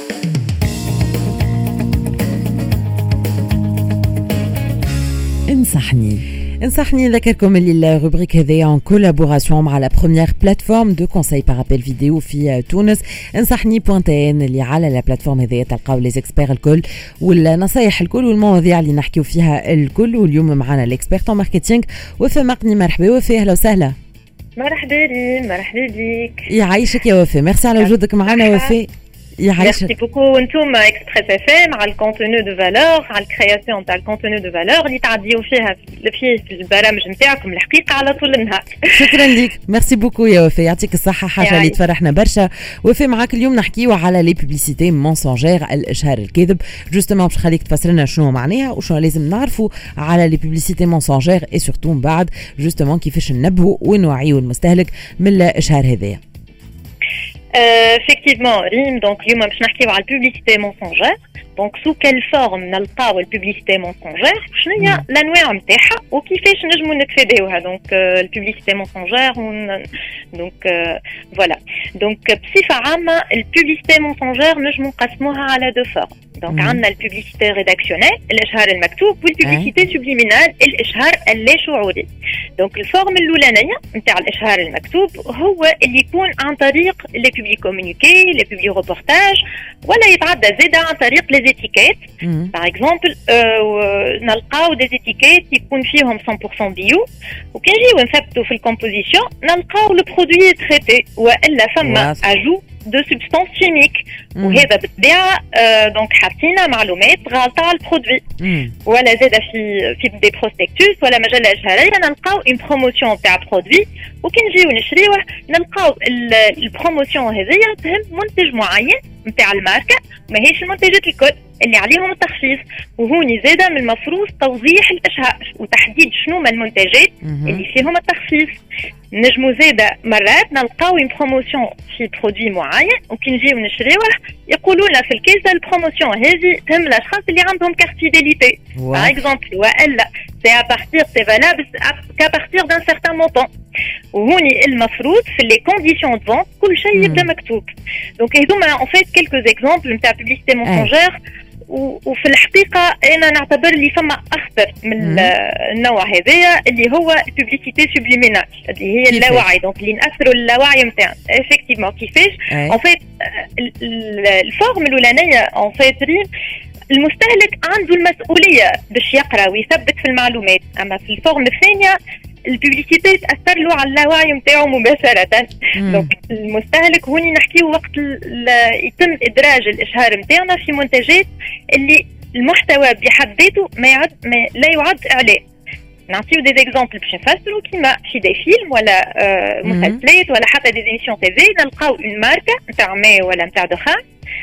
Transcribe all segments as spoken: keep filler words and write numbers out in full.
انصحني انصحني نذكركم اللي الروبريك هذه en collaboration مع la première plateforme de conseil par appel vidéo في تونس انصحني بوان تي ان اللي على لا بلاتفورم هذه تلقاو لي اكسبير الكل والنصايح الكل والمواضيع اللي نحكيو فيها الكل. واليوم معنا الاكسبيرت ماركتينغ وفاء مقني. مرحبا وفاء، اهلا وسهلا. مرحبا لي مرحبا بيك. يعيشك يا وفاء، ميرسي على وجودك معنا وفاء. Merci beaucoup. انتم اكسبريس اف ام على الكونتوني دو فالور، على الكرياسيون تاع الكونتوني دو فالور اللي تعديو فيها في البرامج نتاعكم الحقيقه على طول النهار. شكرا لك، ميرسي بوكو يا وفاء، يعطيك الصحه. حاجه اللي تفرحنا برشا. وفاء معاك اليوم نحكيو على لي بوبليسيتي مونسونجير، الاشهار الكاذب. جوستومون باش خليك تفسر لنا شنو معناها وشنو لازم نعرفوا على لي بوبليسيتي مونسونجير اي سورتو من بعد جوستومون كيفاش ننبهوا ونوعيوا المستهلك من الاشهار هذيا. effectivement ريم. دونك اليوم باش نحكيو على البوبليسيتي مونسونجير. دونك سو كال فورم نلقاو البوبليسيتي مونسونجير، شنو هي الانواع نتاعها وكيفاش نجموا نتفاداوها. دونك البوبليسيتي مونسونجير دونك فوالا. دونك بصفه عامه البوبليسيتي مونسونجير نجموا نقسموها على دو فورم. دونك عندنا البوبليسيتي ريداكسيونيل الاشهار المكتوب، والبوبليسيتي سوبليمينال الاشهار اللا شعوري. دونك الفورم الاولانيه نتاع الاشهار المكتوب هو اللي يكون عن طريق لي بوبلي كومونيكي، لي بوبلي روبورتاج، ولا يتعدى زيدا عن طريق لي زيتيكيت. باغ اكزومبل نلقاو دي زيتيكيت يكون فيهم مية بالمية بيو، وكي نجيو نثبتوا في الكومبوزيسيون نلقاو لو برودوي تريتي والا فما اجو دو سبستانس كيميك، وهذا بالطبيعه دونك حاطين معلومات غلطه على البرودوي. ولا زاده في في دي بروسبكتوس ولا مجله اشهاريه نلقاو اون بروموسيون تاع برودوي، وكي نجيو نشريوه نلقاو البروموسيون هذيا تهم منتج معين نتاع الماركه، ماهيش المنتجات الكل اللي عليهم التخصيص. وهوني زاده من المفروض توضيح الاشهار وتحديد شنو ما المنتجات اللي فيهم التخصيص. نجمو زاده مرات نلقاو اون بروموسيون في برودوي معين، وكي نجيو نشريوه يقولوا لنا في الكيسه البروموسيون هذه تهم الاشخاص اللي عندهم كارت فيديليتي باغ اكزومبل، والا سي ا بارتير سي فالابل كا بارتير دان سيغتان مونطون. وهوني المفروض في لي كونديسيون دو فونت كل شيء يبدا مكتوب. دونك هذوما اون فيت كيلكو اكزومبل نتاع بوبليسيتي مونسونجير. وفي الحقيقه انا نعتبر اللي فما اخطر من النوع هذايا اللي هو البوبليسيتي سوبليمينال اللي هي اللاوعي، دونك اللي ناثروا اللاوعي نتاعنا. افكتيفمون كيفاش اون فيت الفورم الاولانيه اون فيت المستهلك عنده المسؤوليه باش يقرا ويثبت في المعلومات، اما في الفورم الثانيه البوبليسيتي تاثر له على اللاوعي نتاعو مباشره. دونك المستهلك هوني نحكيو وقت يتم ادراج الاشهار نتاعنا في منتجات اللي المحتوى بحد ذاته ما يعد ما لا يعد اعلان. نعطيو دي اكزومبل باش نفسروا كيما في دي فيلم ولا آه مسلسلات ولا حتى دي ايميسيون تي في نلقاو اون ماركه نتاع ماء ولا نتاع دخان.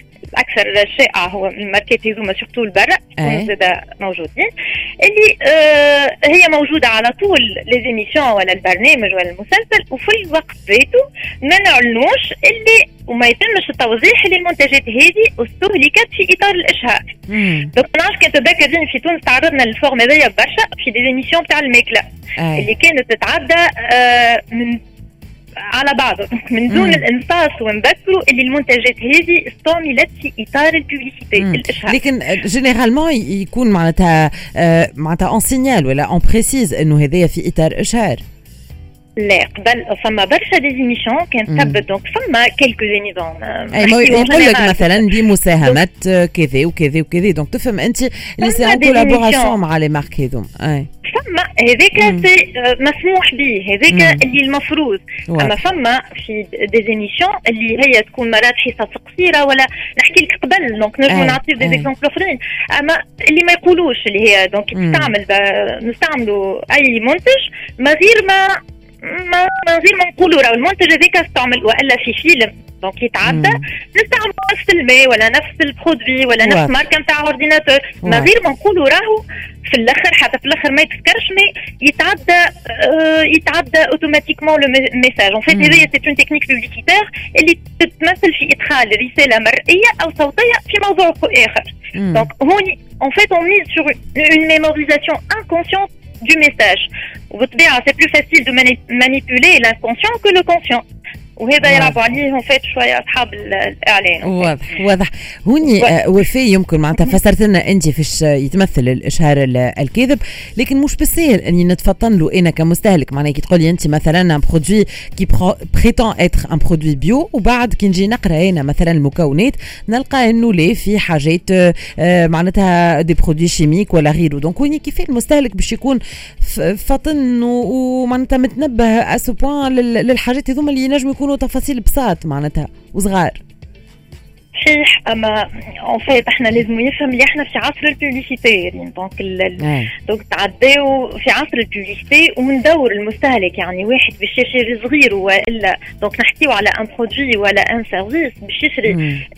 اكثر شائع هو الماركات هذوما سورتو البرا زاده موجودين، اللي آه هي موجوده على طول لي زيميسيون ولا البرنامج ولا المسلسل، وفي الوقت ذاته ما نعلنوش اللي وما يتمش التوضيح للمنتجات هذه استهلكت في اطار الاشهار. دونك نعرف كنت تذكرين في تونس تعرضنا للفورم هذايا برشا في دي زيميسيون تاع الماكله اللي كانت تتعدى آه من على بعض من دون الانصاص ونذكروا اللي المنتجات هذه استعملت في اطار البوبليسيتي الاشهار. لكن جينيرالمون يكون معناتها معناتها اون سينيال ولا اون بريسيز انه هذايا في اطار اشهار. لا قبل فما برشا دي زيميسيون كانت تثبت دونك فما كيلكو زيميسيون يقول لك مثلا بمساهمه كذا وكذا وكذا، دونك تفهم انت اللي سي ان كولابوراسيون مع لي مارك هذوم. اي فما هذاك سي مسموح به، هذاك اللي المفروض. اما فما في دي زيميسيون اللي هي تكون مرات حصص قصيره ولا نحكي لك قبل دونك نجمو نعطيو دي اكزومبل اخرين، اما اللي ما يقولوش اللي هي دونك تستعمل نستعملوا اي منتج ما غير ما ما غير ما نقولوا راه المنتج هذاك استعمل والا في فيلم دونك يتعدى نستعمل نفس الماء ولا نفس البرودوي ولا نفس ماركه نتاع اورديناتور، ما غير ما نقولوا راهو في الاخر حتى في الاخر ما يتذكرش مي يتعدى آه يتعدى اوتوماتيكمون لو ميساج. اون فيت هذه سي اون تكنيك بوبليسيتير اللي تتمثل في ادخال رساله مرئيه او صوتيه في موضوع اخر. دونك هوني اون فيت اون ميز سور اون ميموريزاسيون انكونسيونت du message. وبالطبيعه c'est plus facile de manipuler l'inconscient que le conscient. وهذا يلعبوا عليه فات شويه اصحاب الاعلان. واضح واضح. هوني آه وفي يمكن معناتها فسرت لنا انت فيش يتمثل الاشهار الكاذب، لكن مش بالسهل اني نتفطن له انا كمستهلك. معناها كي تقول لي انت مثلا ان برودوي كي بريتون اتر ان برودوي بيو، وبعد كي نجي نقرا هنا مثلا المكونات نلقى انه ليه في حاجات آه معناتها دي برودوي شيميك ولا غيره. دونك هوني كيف المستهلك باش يكون فطن ومعناتها متنبه اسو بوان للحاجات هذوما اللي ينجموا يكونوا تفاصيل بساط معناتها وصغار. صحيح، اما اون فيت احنا لازم يفهم اللي احنا في عصر الببليسيتي، يعني دونك دونك تعداو في عصر الببليسيتي ومندور المستهلك، يعني واحد باش يشري صغير والا دونك نحكيو على ان برودوي ولا ان سيرفيس باش يشري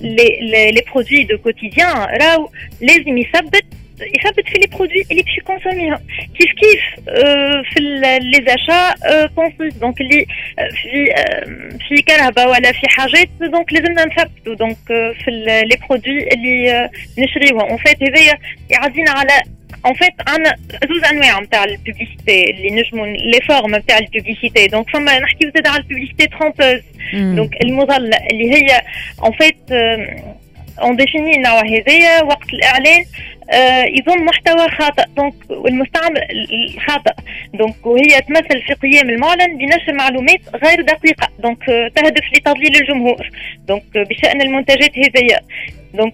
لي لي برودوي دو كوتيديان، راهو لازم يثبت يثبت في لي برودوي اللي باش يكونسوميهم كيف كيف اه في لي زاشا بونسيس. دونك اللي في اه في كهرباء ولا في حاجات دونك لازمنا نثبتوا دونك اه في لي برودوي اللي اه نشريوهم. اون فيت هذايا يعدينا على اون فيت عندنا زوج انواع نتاع البوبليسيتي اللي نجموا لي فورم نتاع البوبليسيتي. دونك فما نحكيو زاد على البوبليسيتي ترومبوز، دونك المضلة اللي هي اون فيت اون ديفيني النوع هذايا وقت الاعلان آه يضم محتوى خاطئ دونك والمستعمل خاطئ، دونك وهي تمثل في قيام المعلن بنشر معلومات غير دقيقه دونك آه تهدف لتضليل الجمهور دونك آه بشان المنتجات هذيا. دونك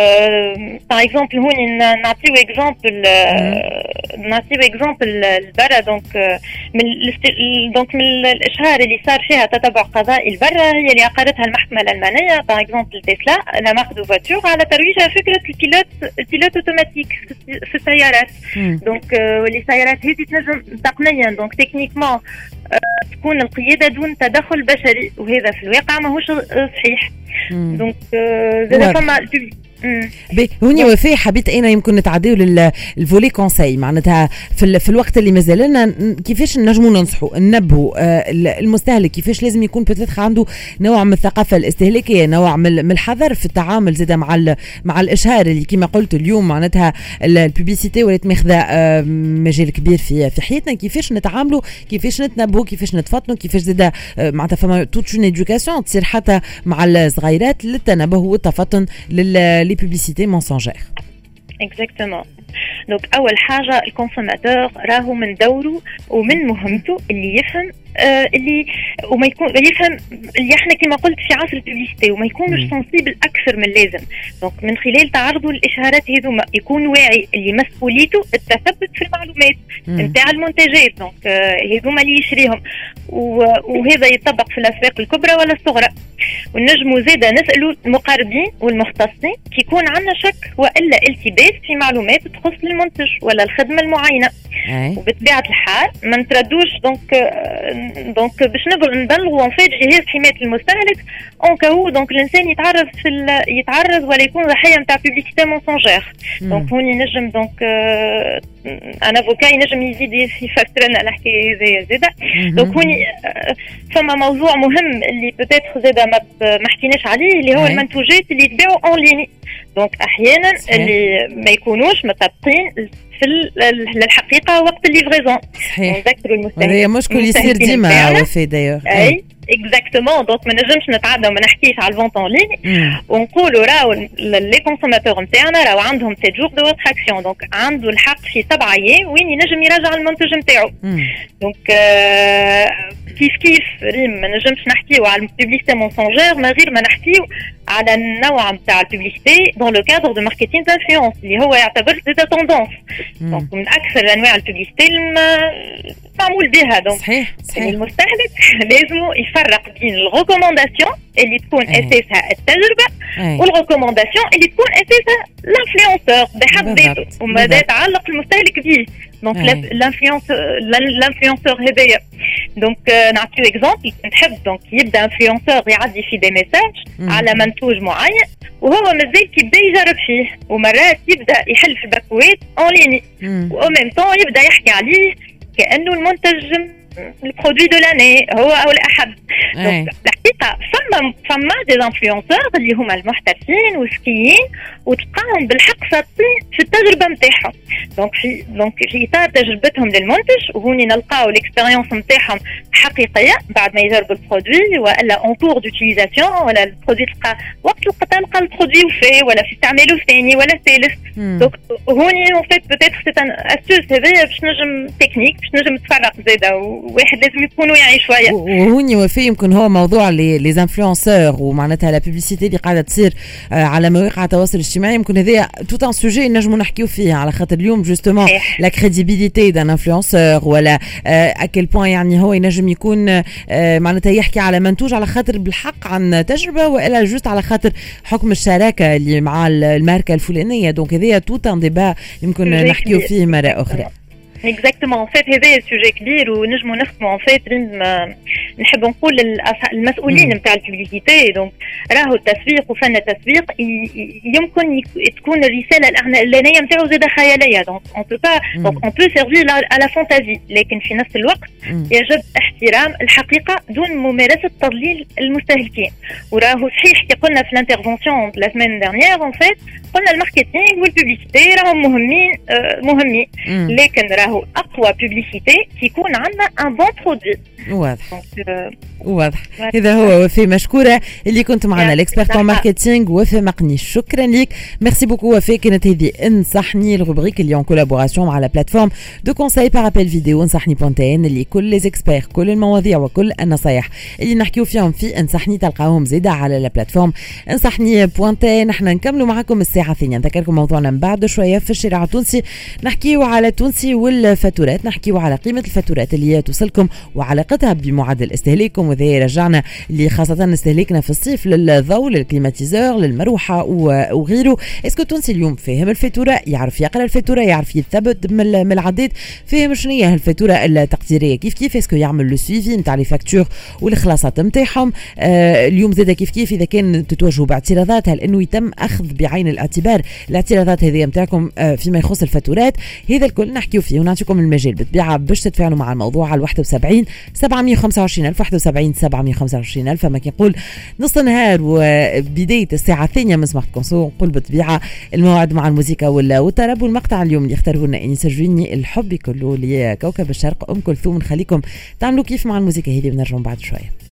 باغ اكزومبل هوني نعطيو اكزومبل نعطيو اكزومبل البرا دونك من دونك من الاشهار اللي صار فيها تتبع قضائي البرا هي اللي عقدتها المحكمه الالمانيه باغ اكزومبل تسلا لا مارك دو فواتور على ترويجها فكره البيلوت البيلوت اوتوماتيك في السيارات. دونك واللي السيارات هذه تنجم تقنيا دونك تكنيكمون تكون القياده دون تدخل بشري، وهذا في الواقع ماهوش صحيح. دونك زاد فما بي هوني وفي حبيت انا يمكن نتعداو للفولي كونساي معناتها في, في الوقت اللي مازال لنا كيفاش نجموا ننصحوا ننبهوا المستهلك كيفاش لازم يكون بتاتخ عنده نوع من الثقافه الاستهلاكيه، نوع من الحذر في التعامل زاد مع مع الاشهار اللي كما قلت اليوم معناتها البوبليسيتي ولات ماخذه مجال كبير في في حياتنا. كيفاش نتعاملوا، كيفاش نتنبهوا، كيفاش نتفطنوا، كيفاش زاد معناتها فما توت اون ادوكاسيون تصير حتى مع الصغيرات للتنبه والتفطن لل les publicités mensongères. Exactement. دونك اول حاجه الكونسوماتور راهو من دوره ومن مهمته اللي يفهم آه اللي وما يكون يفهم اللي احنا كما قلت في عصر الببليسيتي وما يكونش سنسيبل اكثر من اللازم. دونك من خلال تعرضه للاشهارات هذوما يكون واعي اللي مسؤوليته التثبت في المعلومات نتاع المنتجات دونك هذوما آه اللي يشريهم، وهذا يطبق في الاسواق الكبرى ولا الصغرى. ونجموا زاده نسالوا المقاربين والمختصين كي يكون عندنا شك والا التباس في معلومات تخص المنتج ولا الخدمه المعينه. وبطبيعه الحال ما نتردوش دونك دونك باش نبلغوا ان فيت جهاز حمايه المستهلك اون كاو دونك الانسان يتعرض في يتعرض ولا يكون ضحيه نتاع بوبليسيتي مونسونجير. دونك هوني نجم دونك انا افوكا ينجم يزيد يفسر لنا الحكايه هذه زاده. دونك هوني فما موضوع مهم اللي بوتيتر زاده ما حكيناش عليه اللي هو المنتوجات اللي يتباعوا اون ليني. دونك احيانا اللي ما يكونوش مطابقين في الحقيقه وقت الليفريزون. نذكروا المستهلكين هذا مشكل يصير ديما وفي دايوغ. اي اكزاكتومون. دونك ما نجمش نتعدى وما نحكيش على الفونت اون لين ونقولوا راهو لي كونسوماتور نتاعنا راهو عندهم سبعة جور دو ريتراكسيون دونك عنده الحق في سبعة ايام وين ينجم يراجع المنتج نتاعو. دونك آه كيف كيف ريم ما نجمش نحكيو على البوبليسيتي مونسونجير ما غير ما نحكيو على النوع نتاع البوبليسيتي دون لو كادر دو ماركتينغ دانفلونس اللي هو يعتبر زاد توندونس. دونك من اكثر انواع البوبليسيتي معمول بها. دونك صحيح صحيح المستهلك لازم يفرق بين الريكومونداسيون اللي تكون اساسها التجربه والريكومونداسيون اللي تكون اساسها الانفلونسور بحد ذاته وماذا يتعلق المستهلك به. دونك الانفلونس الانفلونسور هذايا دونك نعطيو اكزومبل نحب دونك يبدا انفلونسور يعدي في دي ميساج على منتوج معين وهو مازال كيبدا يجرب فيه ومرات يبدا يحل في الباكوات اون ليني وأو ميم طون يبدا يحكي عليه كانه المنتج البرودوي دو لاني هو او الاحب. دونك الحقيقه فما فما دي انفلونسور اللي هما المحترفين والسكيين وتلقاهم بالحق صادقين في التجربه نتاعهم. دونك في دونك في اطار تجربتهم للمنتج وهوني نلقاو الاكسبيريونس نتاعهم حقيقيه بعد ما يجربوا البرودوي والا اون كور دوتيليزاسيون ولا البرودوي تلقى وقت تلقى البرودوي وفيه ولا في استعماله ثاني ولا ثالث. دونك هوني اون فيت بوتيتر سي ان استوس هذايا باش نجم تكنيك باش نجم تفرق زاده وواحد لازم يكون واعي شويه. وهوني وفي يمكن هو موضوع لي لي انفلونسور ومعناتها لا بوبليسيتي اللي قاعده تصير على مواقع التواصل الاجتماعي يمكن هذايا توت ان سوجي نجموا نحكيو فيه على خاطر اليوم جوستومون لا كريديبيليتي دان انفلونسور ولا اكل بوين يعني هو ينجم يكون معناتها يحكي على منتوج على خاطر بالحق عن تجربه والا جوست على خاطر حكم الشراكه اللي مع الماركه الفلانيه. دونك هذايا توت ان ديبا يمكن نحكيو فيه مره اخرى. اكزاكتومون ان فيت هذا سوجي كبير ونجموا نخدموا ان فيت نحب نقول المسؤولين نتاع الببليسيتي. دونك راهو التسويق وفن التسويق يمكن تكون الرساله الاعلانيه نتاعو زاده خياليه. دونك اون بو با دونك اون بو سيرفي على فانتازي لكن في نفس الوقت يجب احترام الحقيقه دون ممارسه تضليل المستهلكين. وراهو صحيح كي قلنا في الانترفونسيون لا سيمين ديرنيير ان فيت قلنا الماركتينغ والببليسيتي راهم مهمين مهمين لكن راهو اقوى ببليسيتي كيكون عندنا ان بون برودوي. واضح واضح. هذا هو وفي مشكوره اللي كنت معنا الاكسبرت ان ماركتينغ وفي مقني. شكرا لك ميرسي بوكو وفي. كانت هذه انصحني الروبريك اللي اون كولابوراسيون مع لا بلاتفورم دو كونساي بار ابل فيديو انصحني بونتين اللي كل لي اكسبير كل المواضيع وكل النصايح اللي نحكيو فيهم في انصحني تلقاهم زيدا على لا بلاتفورم انصحني بونتين. نحن نكملوا معكم الساعه الثانيه. نذكركم موضوعنا من بعد شويه في الشارع التونسي نحكيو على التونسي والفاتورات نحكيو على قيمه الفاتورات اللي هي توصلكم وعلاقتها بمعدل استهلاككم. وذي رجعنا اللي خاصه استهلاكنا في الصيف للضوء للكليماتيزور للمروحه وغيره. اسكو التونسي اليوم فاهم الفاتوره يعرف يقرا الفاتوره يعرف يثبت من العداد فاهم شنو هي الفاتوره التقديريه كيف كيف اسكو يعمل لو سويفي نتاع لي فاكتور والخلاصات نتاعهم. آه اليوم زاد كيف كيف اذا كان تتواجهوا باعتراضات هل انه يتم اخذ بعين الاعتبار الاعتراضات هذه نتاعكم آه فيما يخص الفاتورات. هذا الكل نحكيو فيه ونعطيكم المجال بالطبيعه باش تتفاعلوا مع الموضوع على واحد وسبعين سبعمية وخمسة وعشرين ألف واحد وسبعين سبعمية وخمسة وعشرين ألف. ما كنقول نص النهار وبدايه الساعه الثانيه من صباح كونسو نقول بالطبيعه الموعد مع الموسيقى والطرب. والمقطع اليوم اللي اختاروه لنا انيس الجويني الحب كله لكوكب الشرق ام كلثوم. نخليكم تعملوا كيف مع الموسيقى هذه ونرجعوا بعد شويه.